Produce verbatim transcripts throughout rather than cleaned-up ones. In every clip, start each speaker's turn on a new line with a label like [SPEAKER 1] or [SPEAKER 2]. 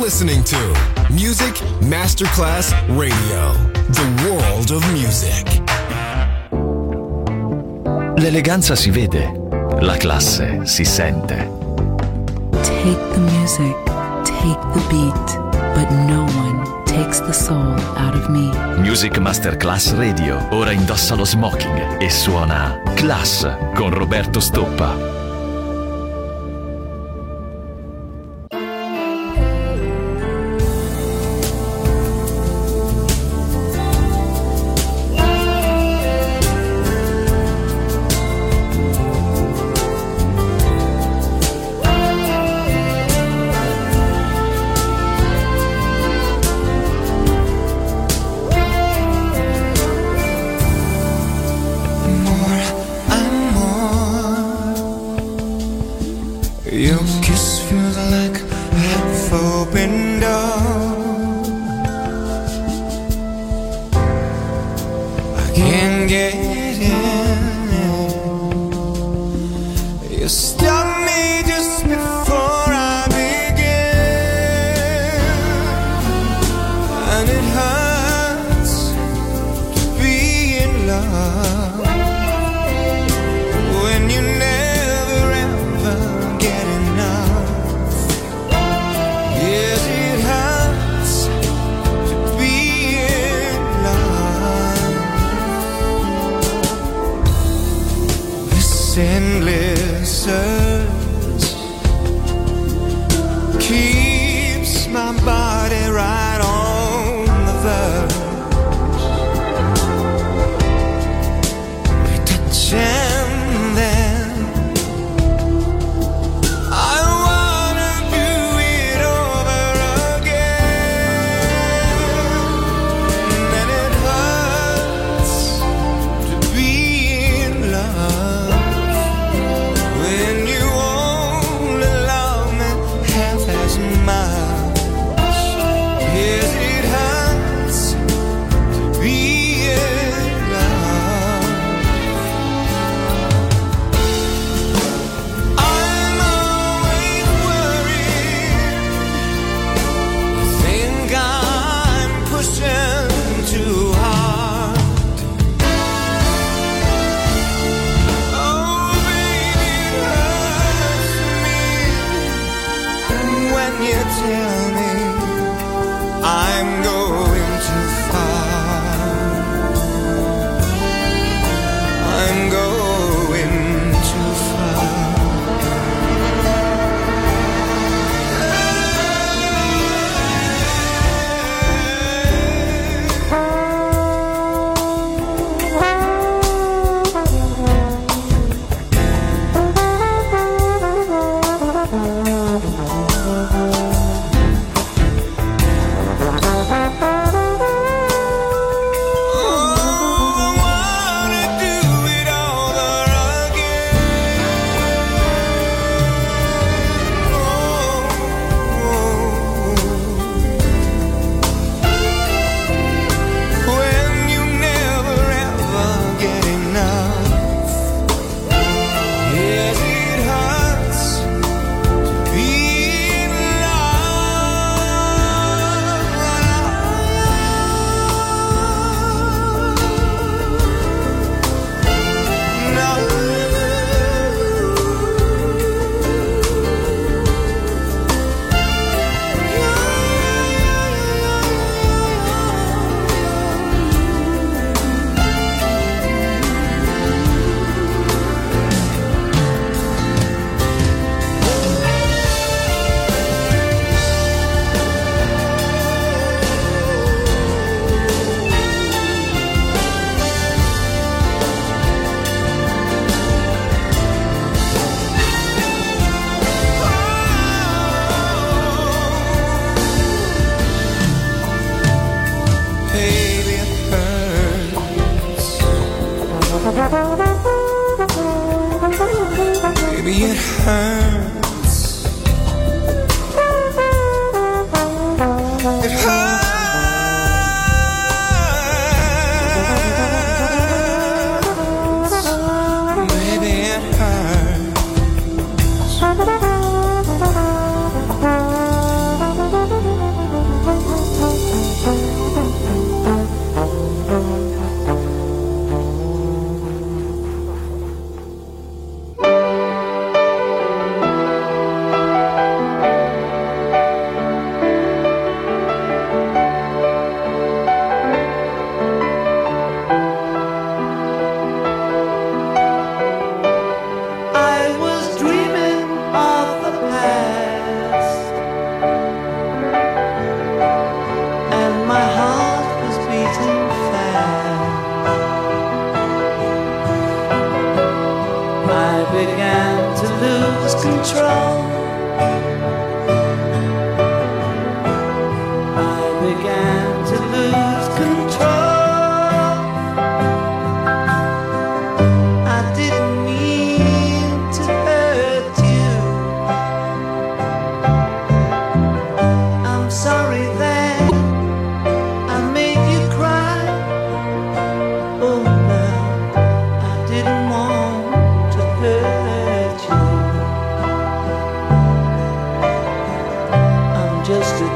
[SPEAKER 1] listening to Music Masterclass Radio, the world of music.
[SPEAKER 2] L'eleganza si vede, la classe si sente.
[SPEAKER 3] Take the music, take the beat, but no one takes the soul out of me.
[SPEAKER 2] Music Masterclass Radio ora indossa lo smoking e suona Class con Roberto Stoppa.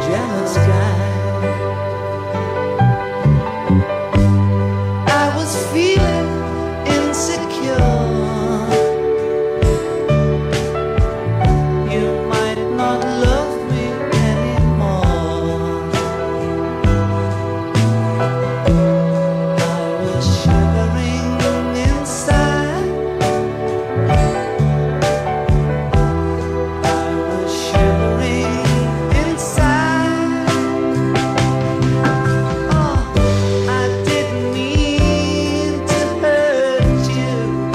[SPEAKER 4] jealous guy. I was feeling insecure. You might not love me anymore. I was shivering inside. I was shivering inside. Oh, I didn't mean to hurt you.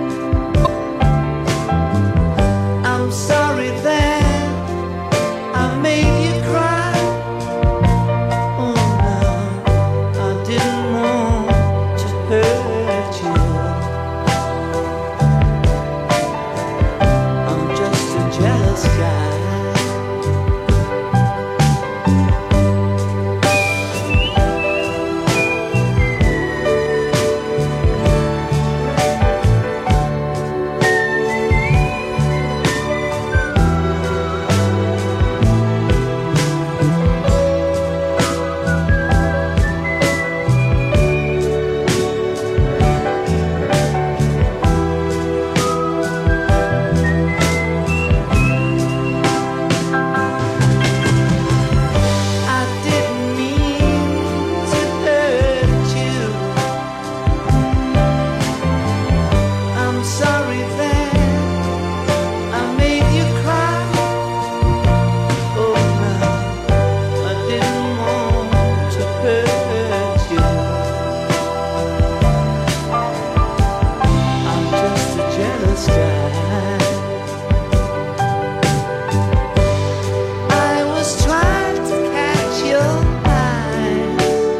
[SPEAKER 4] I'm sorry that I made you cry. Oh no, I didn't want to hurt you. I'm just a jealous guy. I didn't mean to hurt you. I'm sorry that I made you cry. Oh no, I didn't want to hurt you. I'm just a jealous guy. I was trying to catch your eye.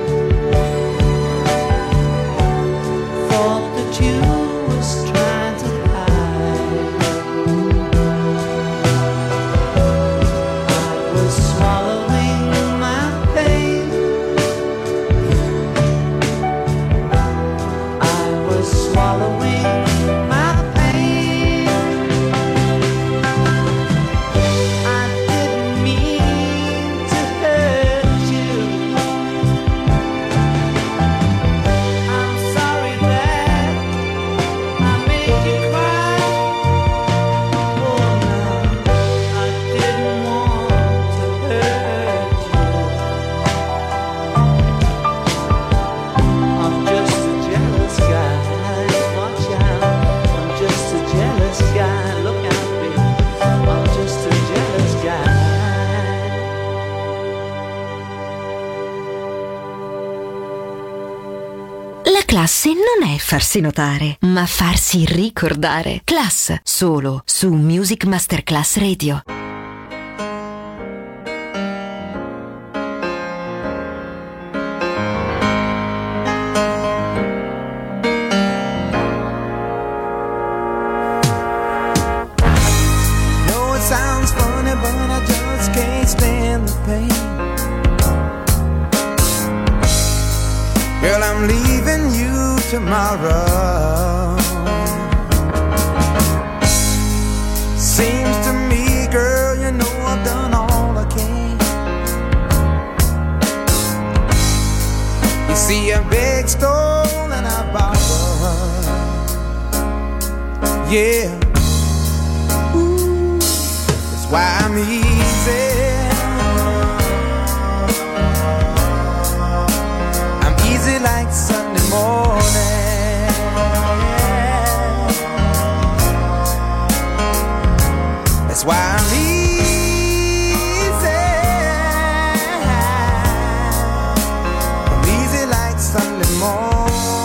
[SPEAKER 4] Thought that you was trying to hide. I was swallowing my pain. I was swallowing my pain. I didn't mean to hurt you. I'm sorry that I made you cry. Oh no, I didn't want to hurt you. I'm just a jealous guy. Watch out, I'm just a jealous guy. Look out, baby, I'm just a jealous guy.
[SPEAKER 5] La classe non è farsi notare, ma farsi ricordare. Class, solo su Music Masterclass Radio.
[SPEAKER 4] Know it sounds funny, but I just can't stand the pain. Girl, I'm leaving you tomorrow. Seems to me, girl, you know I've done all I can. You see, a big stole and I borrowed. Yeah. Ooh, that's why I'm easy. I'm easy like Sunday morning. That's why I'm easy. I'm easy like Sunday morning.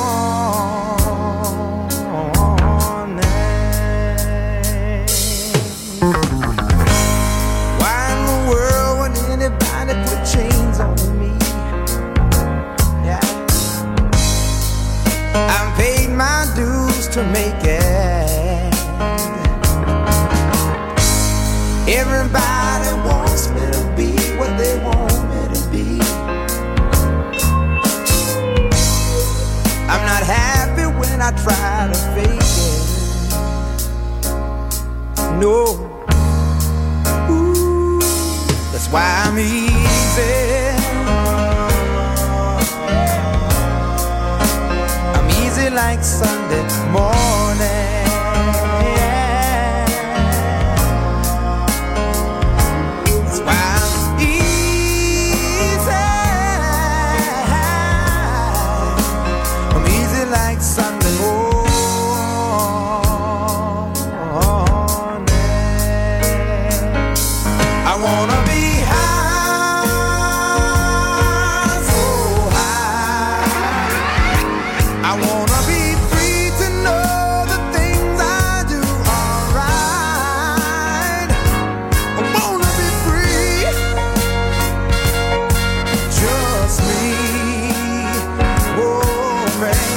[SPEAKER 4] Why in the world would anybody put chains on me? Yeah. I've paid my dues to make it. Everybody wants me to be what they want me to be. I'm not happy when I try to fake it. No. Ooh, that's why I'm easy.
[SPEAKER 6] like Sunday morning. That's why I'm easy. I'm easy like Sunday morning. I wanna be high, so high. I wanna be free to know the things I do are right. I wanna be free, just me, oh man.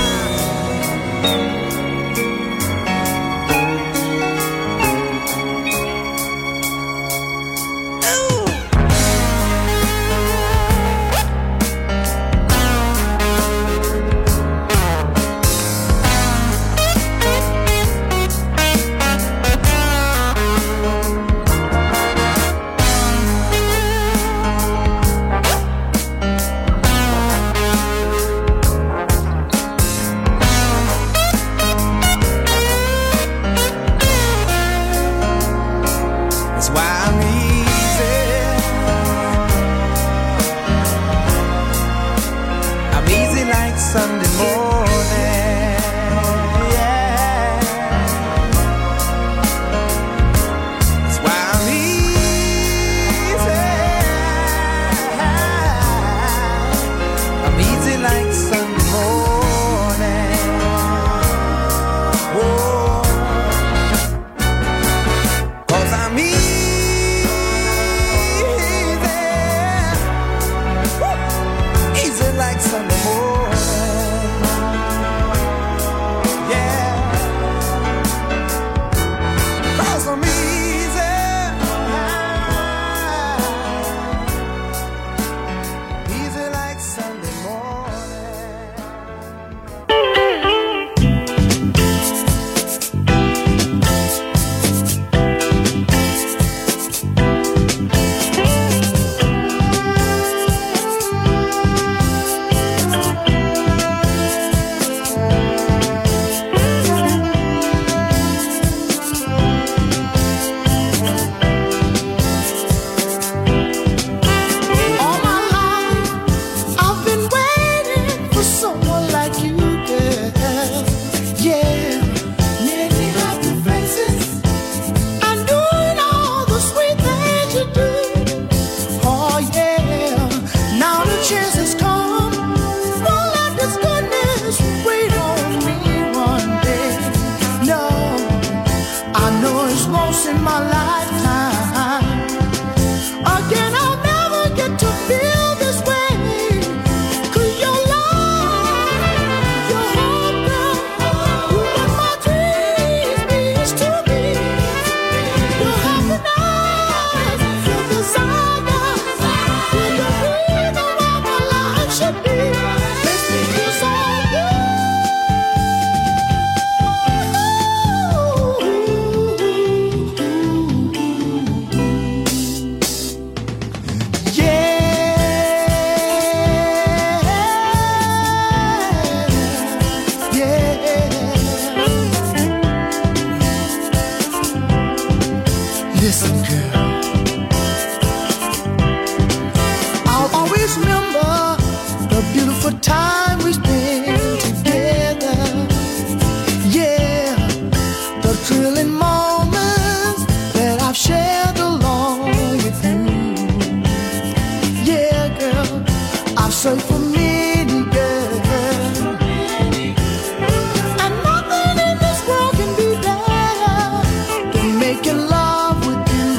[SPEAKER 6] That's why I'm easy. I'm easy like Sunday morning. Yeah. That's why I'm easy. I'm easy like Sunday morning. Whoa. 'Cause I'm easy. Easy like Sunday morning. Yeah. 'Cause I'm easy. Easy like Sunday morning. All my life I've been waiting for someone like you, girl. Yeah, many happy faces and doing all the sweet things you do. Oh yeah, now the chance has come. Won't let this goodness wait on me one day. No, I know it's once in my lifetime. Again, I'll never get to feel this way. 'Cause your love, your hope, girl, you make my dreams means to me. Your happiness, your desire, you're the reason why my life should be. Makes me feel so good. Yeah, yeah. Listen, girl, I'll always remember the beautiful time we spent together. Yeah, the thrilling moments that I've shared along with you. Yeah, girl, I've searched for many girls, and nothing in this world can be better than making love with you.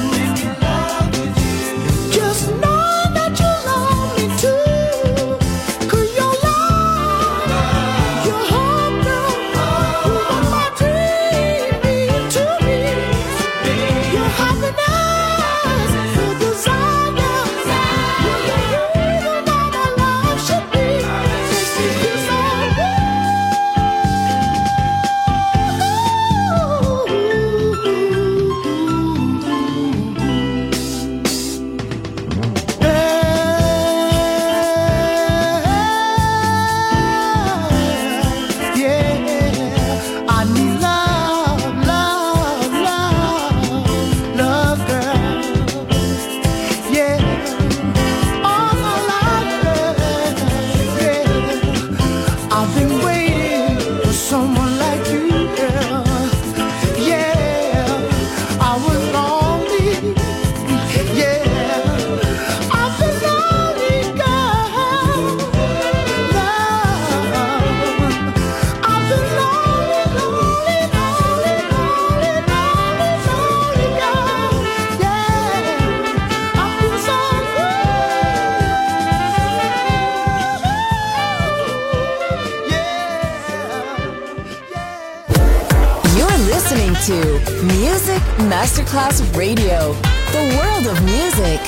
[SPEAKER 6] Just knowing that you love me too. 'Cause your love, your hope, girl, you make my dream mean to me. Your happiness, your desire, you're the reason why my life
[SPEAKER 7] to Music Masterclass Radio, the world of music.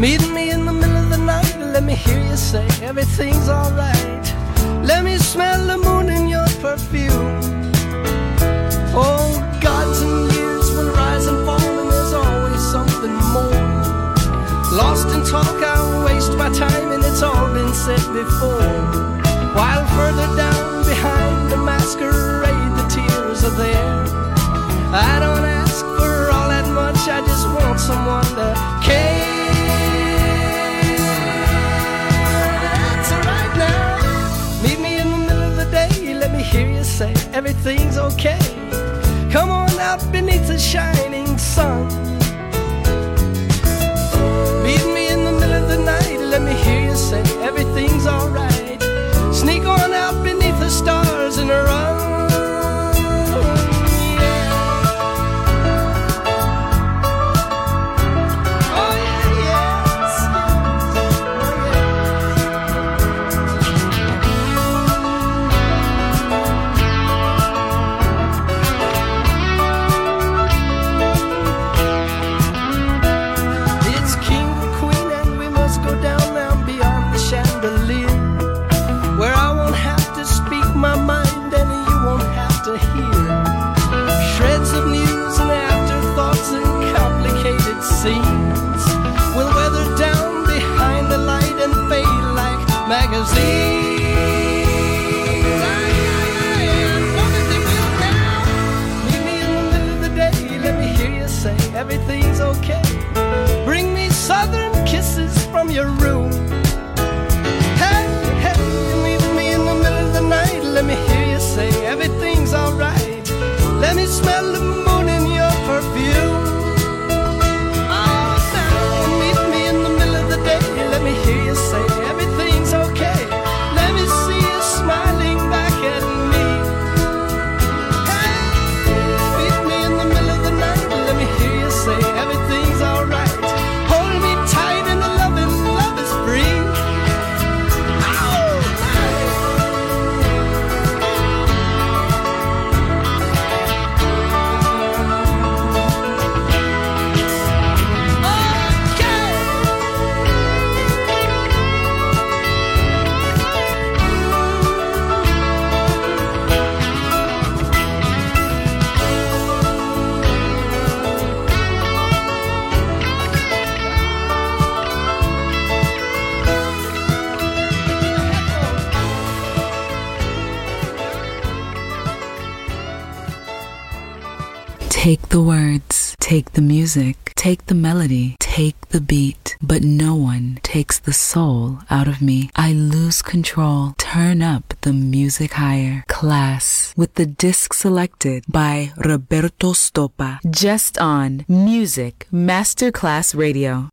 [SPEAKER 8] Meet me in the middle of the night, let me hear you say everything's alright. Let me smell the moon in your perfume. Oh, gods and years will rise and fall, and there's always something more. Lost in talk, I waste my time, and it's all been said before. While further down behind the masquerade, the tears are there. I don't ask for all that much, I just want someone to care. That's right now. Meet me in the middle of the day, let me hear you say everything's okay. Come on out beneath the shining sun. Meet me in the middle of the night, let me hear you say everything's alright. Sneak on out beneath the stars and run. Will weather down behind the light and fade like magazines. Meet me in the middle of the day, let me hear you say everything's okay. Bring me southern kisses from your room. Hey, hey, meet me in the middle of the night, let me hear you say everything's alright. Let me smell the moon in your perfume. Let me hear you say everything's okay. Let me see you smiling back at me. Hey, meet me in the middle of the night. Let me hear you say everything's alright. Hold me tight and the loving love is free.
[SPEAKER 3] Take the words, take the music, take the melody, take the beat, but no one takes the soul out of me. I lose control, turn up the music higher. Class with the disc selected by Roberto Stoppa, just on Music Masterclass Radio.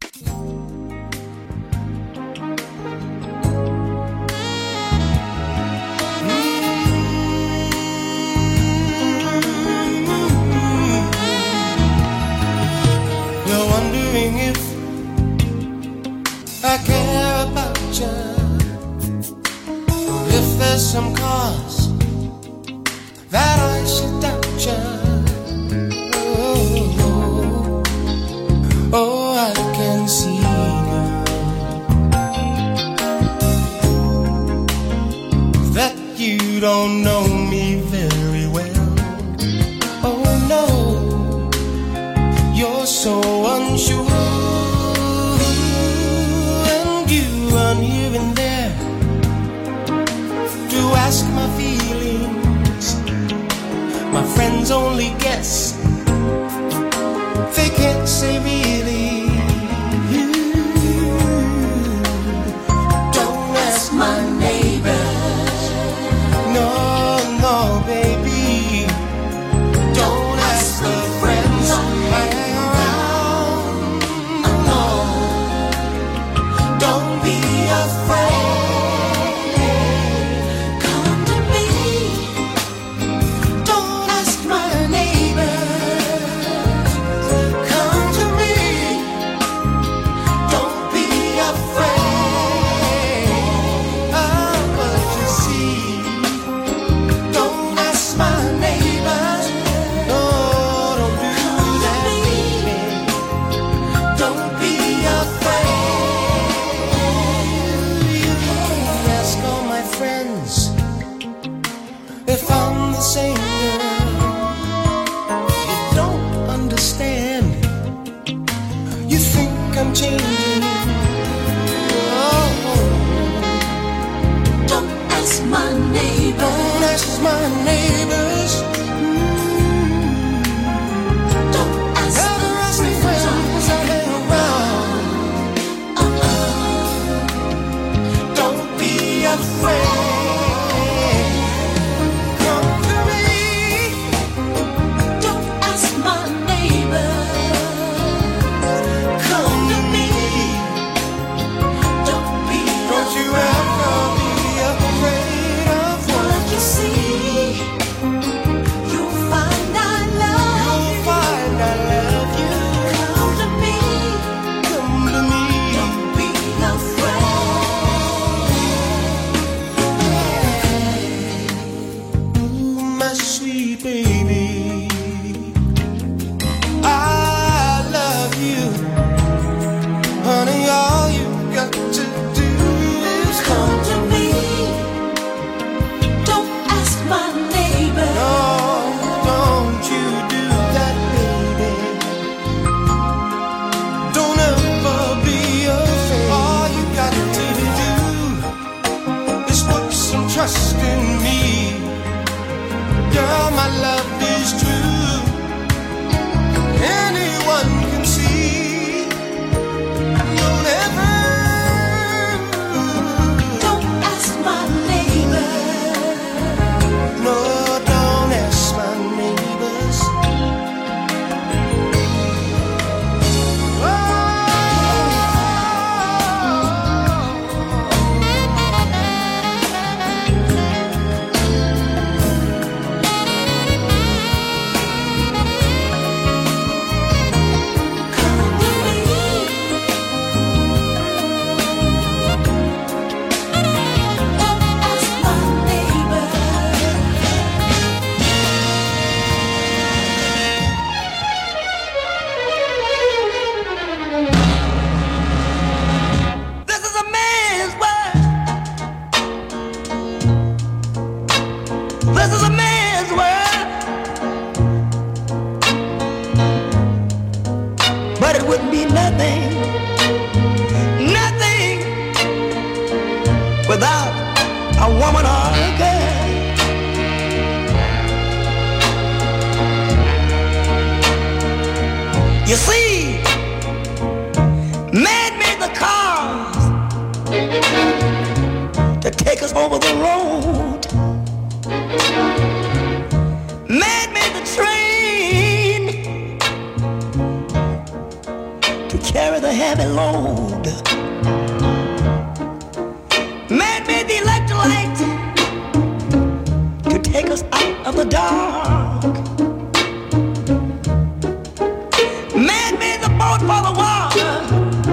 [SPEAKER 6] If I care about you, or if there's some cause that I should doubt you. Oh, oh, I can see now that you don't know me very well. Oh no, you're so unsure. Here and there to ask my feelings. My friends only guess, they can't say really. Don't ask my neighbors, no, You think I'm changing? Oh,
[SPEAKER 9] don't ask my neighbors.
[SPEAKER 6] Don't ask my neighbors. Mm.
[SPEAKER 9] Don't ask
[SPEAKER 6] Ever
[SPEAKER 9] the
[SPEAKER 6] ask the friends I hang around.
[SPEAKER 9] Uh-uh.
[SPEAKER 6] Don't be afraid. Trust in me, girl, my love is true. Anyone can see. Don't ever.
[SPEAKER 9] Don't ask my neighbor.
[SPEAKER 6] No, don't ask my neighbors. Oh.
[SPEAKER 8] Without a woman or a girl, you see, man made the cars to take us over the road. Man made the train to carry the heavy load. Man made the electric light to take us out of the dark. Man made the boat for the water,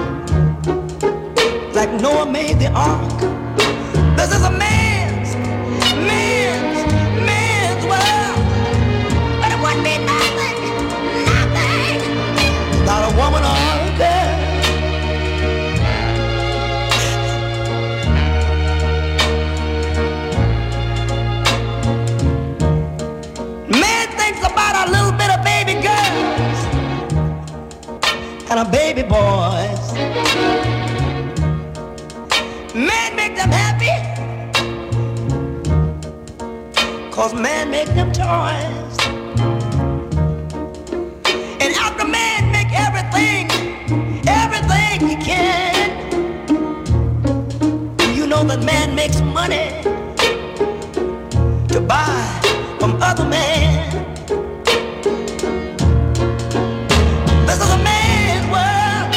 [SPEAKER 8] like Noah made the ark. This is a man's, man's, man's world. But it wouldn't be nothing, nothing without a woman or a girl. And a baby boys, man make them happy, cause man make them toys. And after man make everything, everything he can, you know that man makes money to buy from other men. This is a man's world,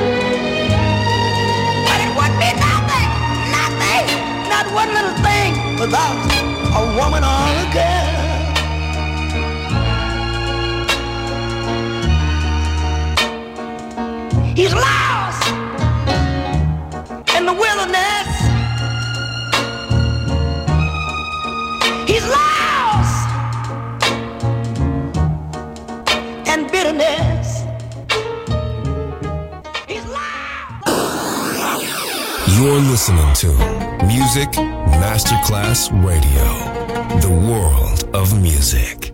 [SPEAKER 8] but it wouldn't be nothing, nothing, not one little thing without a woman or a girl. He's lost in the wilderness. He's lost in bitterness.
[SPEAKER 1] You're listening to Music Masterclass Radio, the world of music.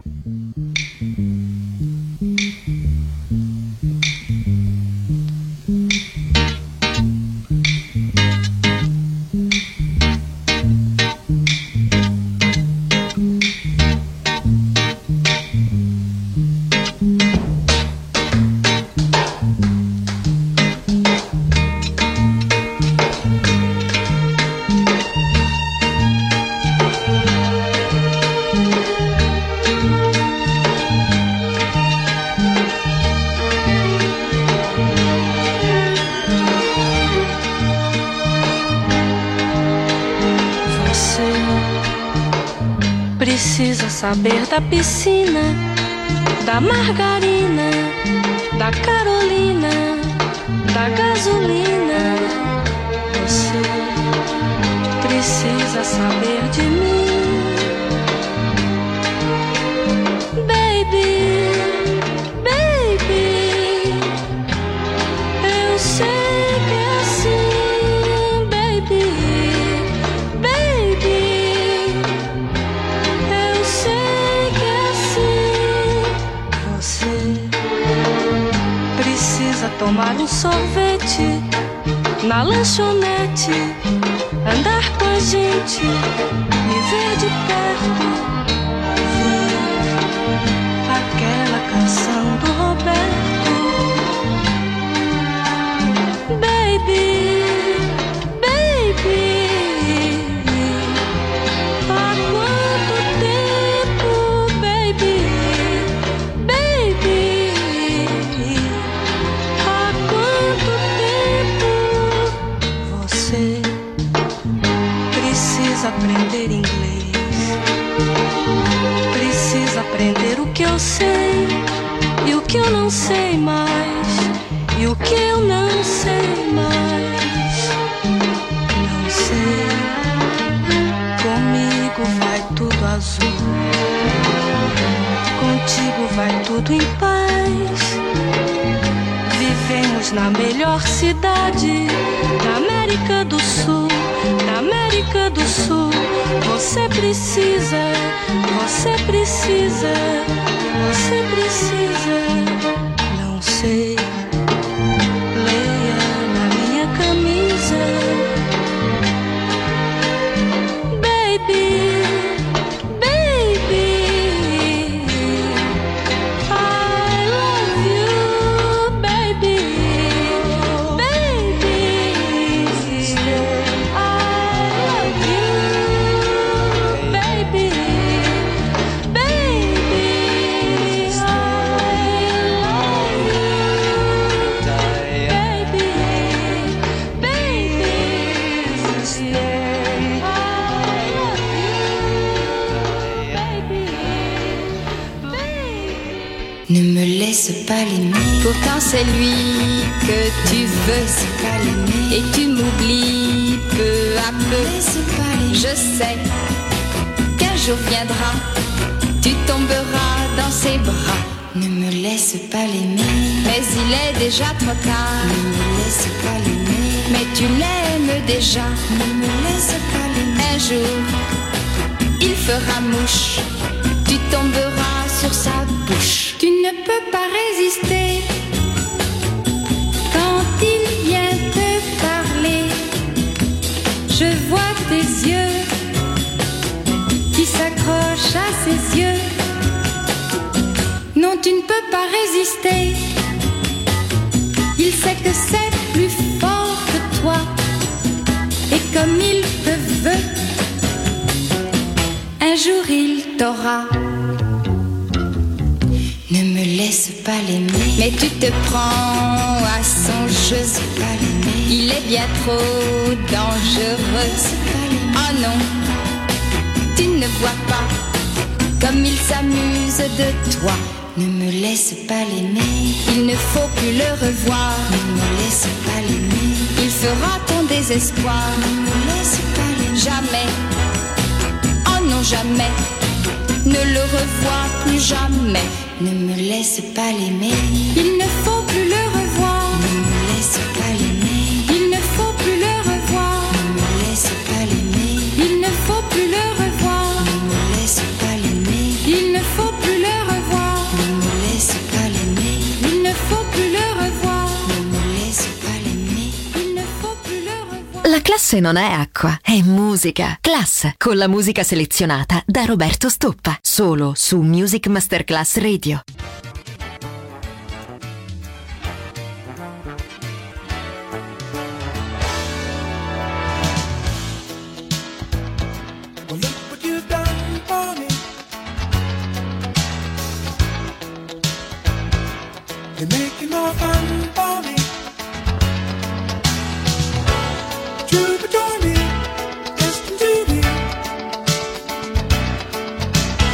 [SPEAKER 10] precisa saber da piscina, da margarina, da Carolina, da gasolina. Você precisa saber de mim, baby, baby. Eu sei que é assim, baby, baby. Eu sei que é assim. Você precisa tomar um sorvete na lanchonete, andar com a gente, me ver de perto, ver aquela canção do Roberto. Baby, baby, há quanto tempo, baby, baby, há quanto tempo. Você precisa aprender inglês, precisa aprender o que eu sei e o que eu não sei mais, e o que eu não sei mais. Não sei, comigo vai tudo azul, contigo vai tudo em paz. Vivemos na melhor cidade da América do Sul, da América do Sul. Você precisa, você precisa, você precisa. Não sei, leia na minha camisa, baby, baby. I love you, baby, baby. I love you, baby, baby.
[SPEAKER 11] Ne me laisse pas l'aimer. Pourtant c'est lui que tu veux. Pas l'aimer. Et tu m'oublies peu à peu. Je sais qu'un jour viendra, tu tomberas dans ses bras. Ne me laisse pas l'aimer. Mais il est déjà trop tard. Ne me laisse pas l'aimer. Mais tu l'aimes déjà. Ne me laisse pas l'aimer. Un jour, il fera mouche. Tu tomberas sur sa bouche. Tu ne peux pas résister quand il vient te parler. Je vois tes yeux qui s'accrochent à ses yeux. Non, tu ne peux pas résister. Il sait que c'est plus fort que toi. Et comme il te veut, un jour il t'aura. Ne me laisse pas l'aimer. Mais tu te prends à son jeu. Pas l'aimer. Il est bien trop dangereux. Oh non, tu ne vois pas comme il s'amuse de toi. Ne me laisse pas l'aimer. Il ne faut plus le revoir. Ne me laisse pas l'aimer. Il fera ton désespoir. Ne me laisse pas l'aimer. Jamais, oh non jamais, ne le revois plus jamais. Ne me laisse pas l'aimer. Il ne faut plus le revoir. Ne me laisse pas l'aimer. Il ne faut plus le revoir. Ne me laisse pas l'aimer. Il ne faut plus le revoir. Ne me laisse pas l'aimer. Il ne faut plus le revoir. Ne me laisse pas l'aimer. Il ne faut plus le revoir. Ne me laisse pas l'aimer. Il ne faut plus le revoir.
[SPEAKER 5] La classe non è acqua, è musica. Class, con la musica selezionata da Roberto Stoppa. Solo su Music Masterclass Radio.
[SPEAKER 6] Well, look what you've done for me. You're making more fun for me. Troubadour me, destined to be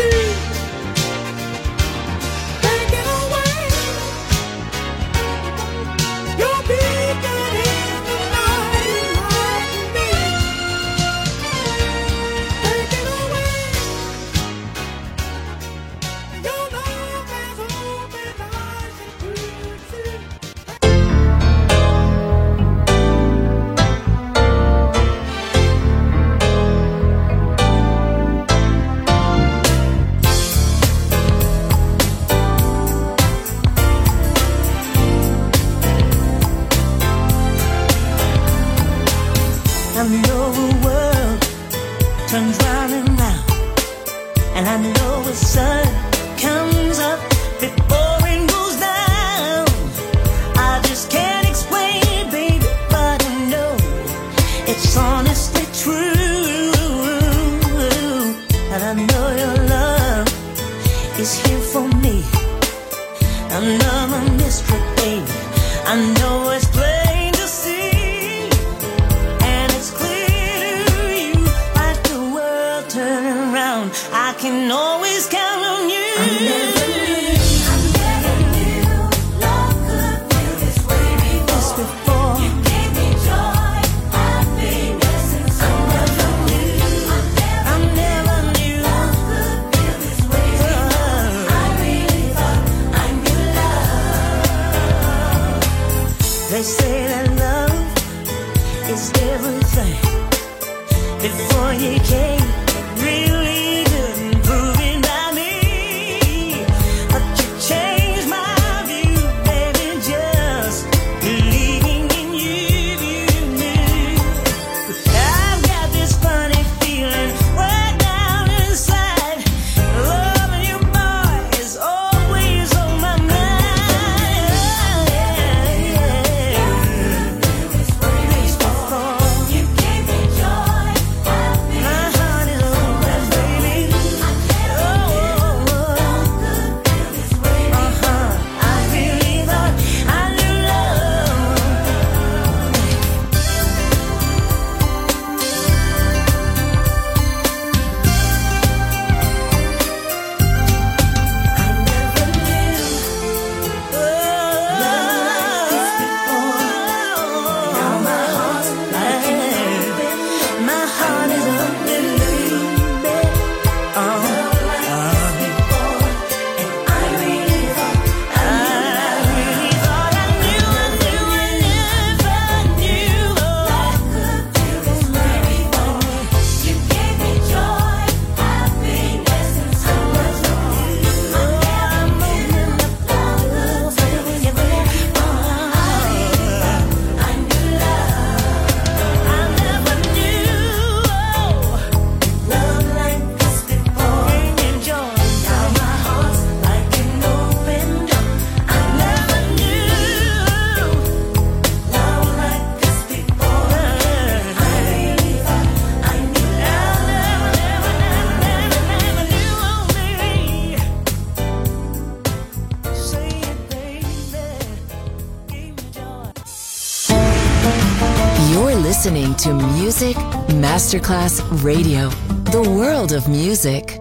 [SPEAKER 7] Listening to Music Masterclass Radio, the world of music.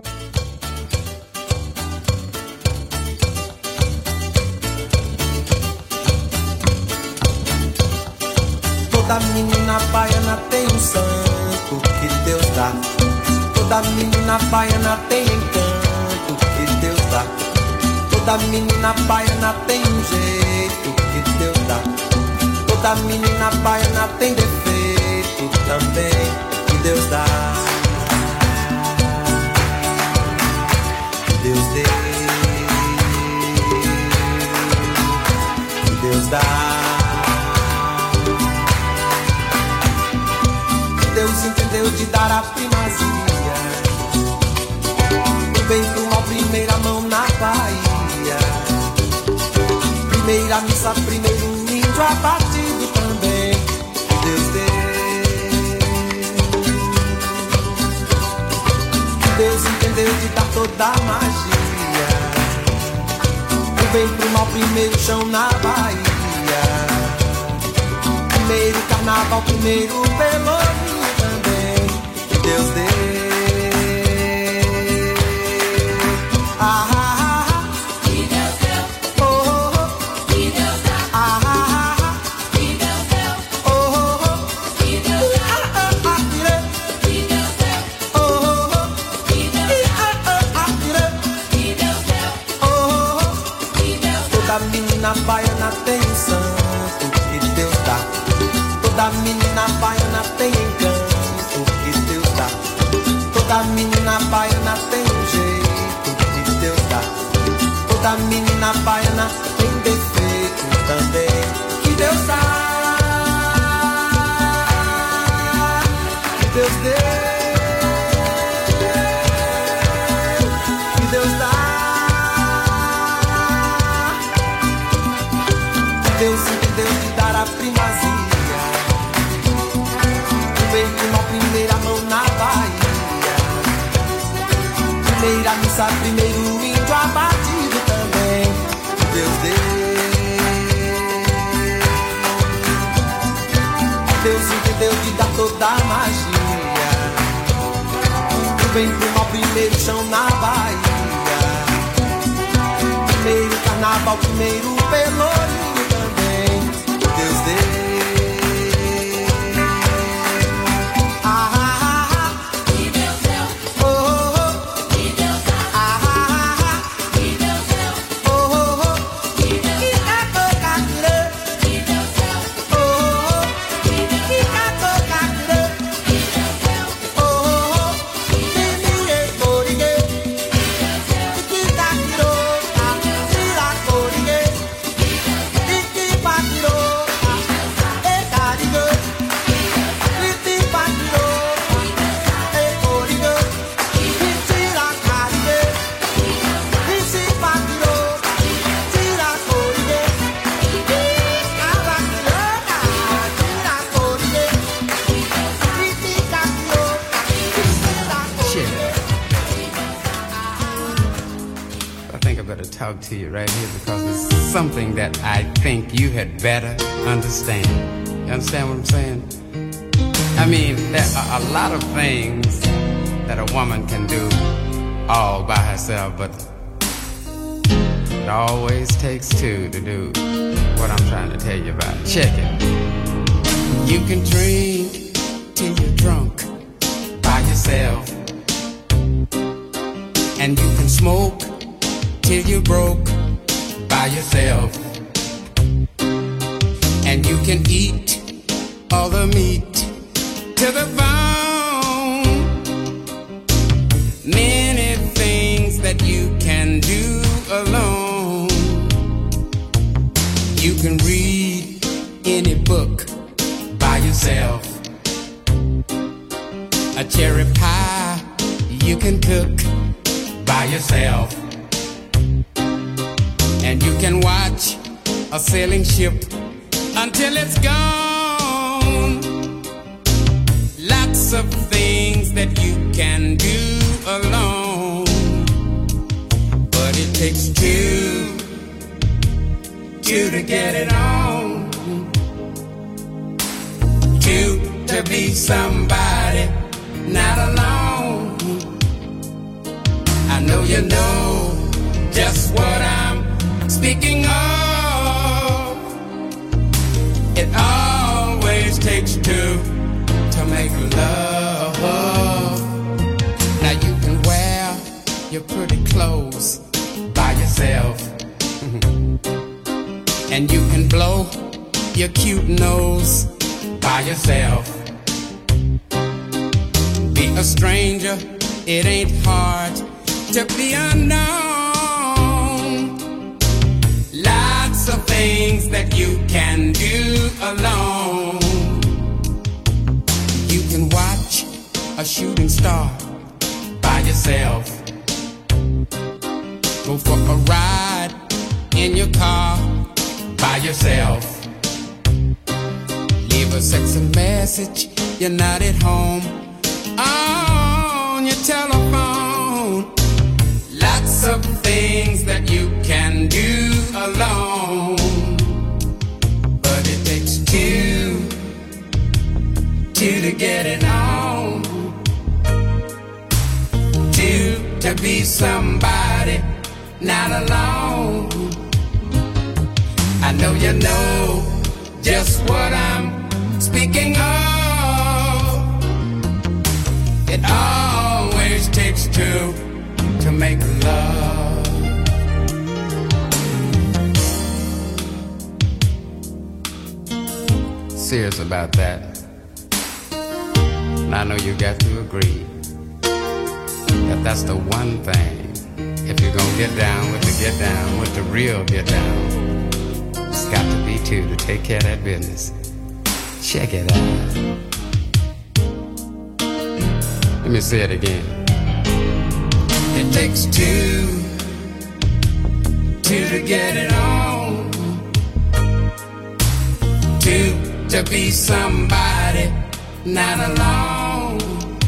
[SPEAKER 12] Toda menina baiana tem um santo que Deus dá. Toda menina baiana tem encanto que Deus dá. Toda menina baiana tem um jeito que Deus dá. Toda menina baiana tem defeito também que Deus dá. Que Deus dê, que Deus dá. Deus entendeu de dar a primazia, do bem pro mal, primeira mão na Bahia. Primeira missa, primeiro um índio abatido também. Deus deu. Deus entendeu de dar toda a magia, do bem pro mal, primeiro chão na Bahia. Primeiro carnaval, primeiro pelourinho também. Deus deu. menina baiana tem um santo que Deus dá. Toda menina baiana tem encanto que Deus dá. Toda menina baiana tem um jeito que Deus dá. Toda menina baiana tem defeito também que Deus dá. Que Deus deu. Deus entendeu de dar a primazia. Primeiro na primeira mão na Bahia. Primeira missa, primeiro índio abatido também. Deus deu. Deus entendeu de dar toda a magia. Primeiro mal, primeiro chão na Bahia. Primeiro carnaval, primeiro pelourinho. Deus deu. Ah, ah, ah. Que Deus deu. Oh, oh, oh. Que Deus deu. Ah, ah, ah. Que Deus deu. Oh, oh, oh. Que Deus deu. Que Deus deu. Oh, oh, oh. Que Deus deu. Que Deus deu. Oh, oh, oh. Que ninguém corrigue. Que Deus deu.
[SPEAKER 13] Talk to you right here because it's something that I think you had better understand. You understand what I'm saying? I mean, there are a lot of things that a woman can do all by herself, but it always takes two to do what I'm trying to tell you about. Check it. You can drink till you're drunk by yourself, and you can smoke till you're broke by yourself, and you can eat all the meat to the bone. Many things that you can do alone. You can read any book by yourself. A cherry pie you can cook by yourself. And you can watch a sailing ship until it's gone. Lots of things that you can do alone, but it takes two, two to get it on. Two to be somebody, not alone. I know you know just what I'm speaking of. It always takes two to make love. Now you can wear your pretty clothes by yourself, and you can blow your cute nose by yourself. Be a stranger, it ain't hard to be unknown. Lots of things that you can do alone. You can watch a shooting star by yourself. Go for a ride in your car by yourself. Leave a sexy message, you're not at home, on your telephone. Lots of things that you can do alone, but it takes two, two to get it on. Two to be somebody, not alone. I know you know just what I'm speaking of. It always takes two to make love. serious about that. And I know you got to agree that that's the one thing. If you're gonna get down with the get down, with the real get down, it's got to be two to take care of that business. Check it out. Let me say it again. It takes two, two to get it on, two to be somebody, not alone.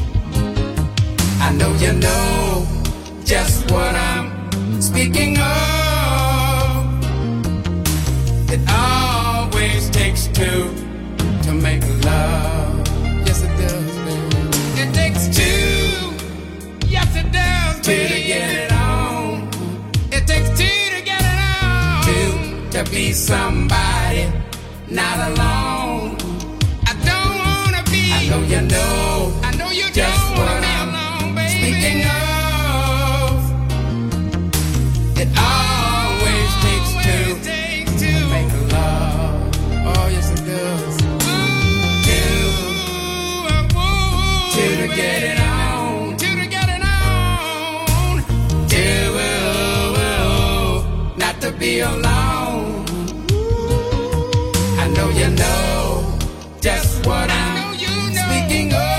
[SPEAKER 13] I know you know just what I'm speaking of. It always takes two to make love. Yes, it does, baby. It takes two. Yes, it does, baby. Two to get it on. It takes two to get it on. Two to be somebody, not alone. I don't wanna be. I know you know. I know you just don't wanna be alone, baby. Speaking of. It always takes two to make love. Oh, yes, it does. Two, two to get it on. Two to get it on. Two, not to be alone. I know you know just what I'm speaking of.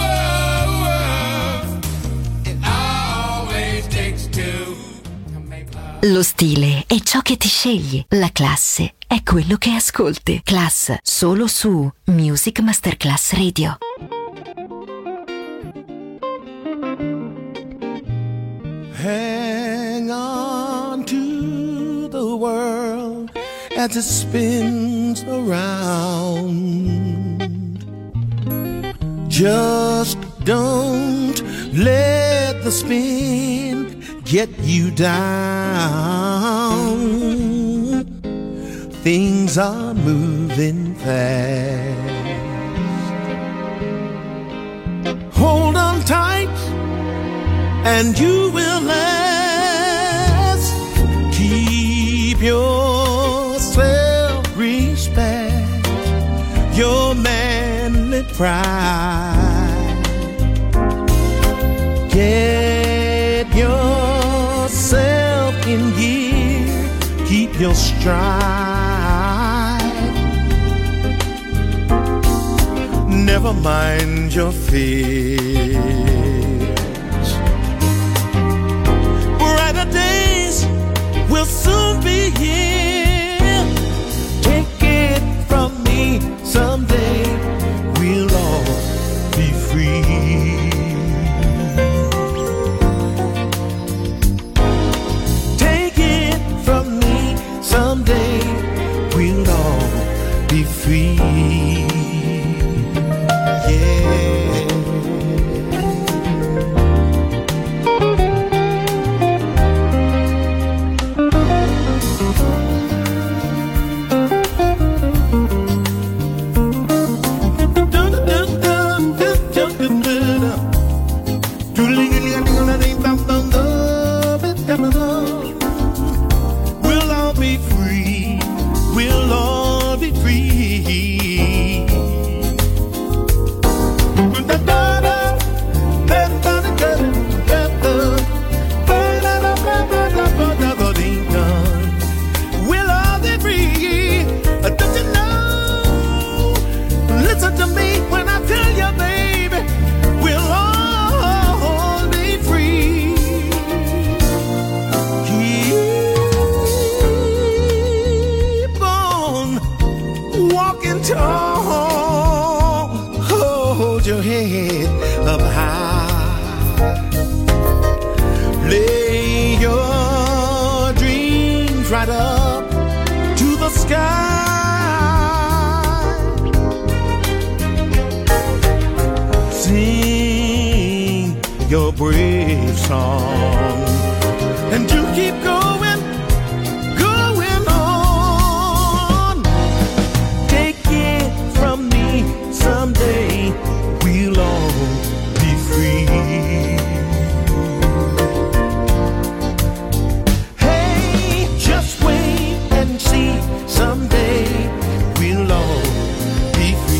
[SPEAKER 13] It always takes two.
[SPEAKER 5] Lo stile è ciò che ti scegli, la classe è quello che ascolti. Class solo su Music Masterclass Radio.
[SPEAKER 6] Hang on to the world as it spins around. Just don't let the spin get you down. Things are moving fast. Hold on tight and you will last. Keep your self-respect, your manly pride. Get yourself in gear, keep your stride. Never mind your fears. Brighter days will soon be here. Take it from me, someday we'll all be free. Someday we'll all be free. Yeah. Your brave song, and you keep going, going on. Take it from me, someday we'll all be free. Hey, just wait and see, someday we'll all be free.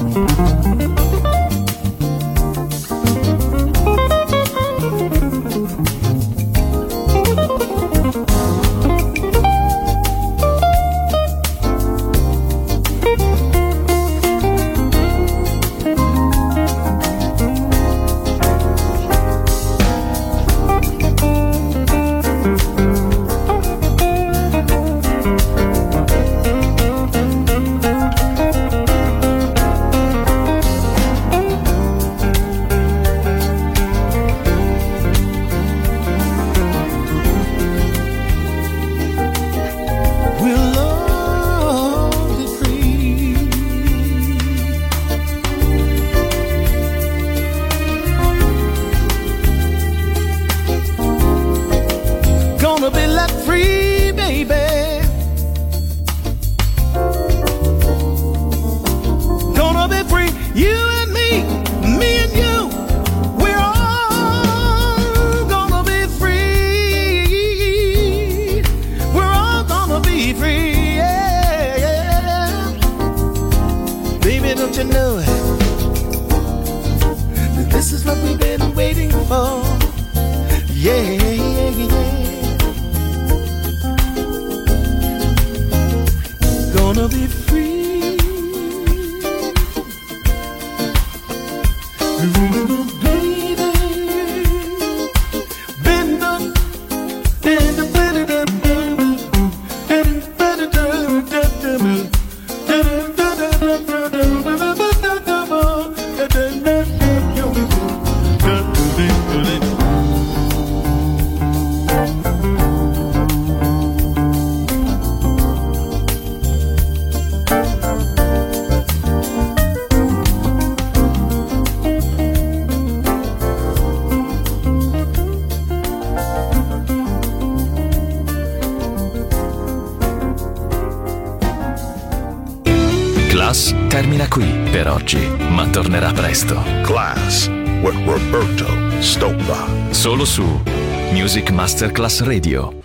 [SPEAKER 2] Class termina qui per oggi, ma tornerà presto.
[SPEAKER 14] Class with Roberto Stoppa.
[SPEAKER 2] Solo su Music Masterclass Radio.